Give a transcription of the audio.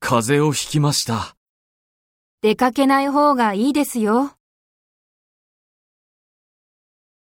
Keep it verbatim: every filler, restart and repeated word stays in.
風邪をひきました。 出かけない方がいいですよ。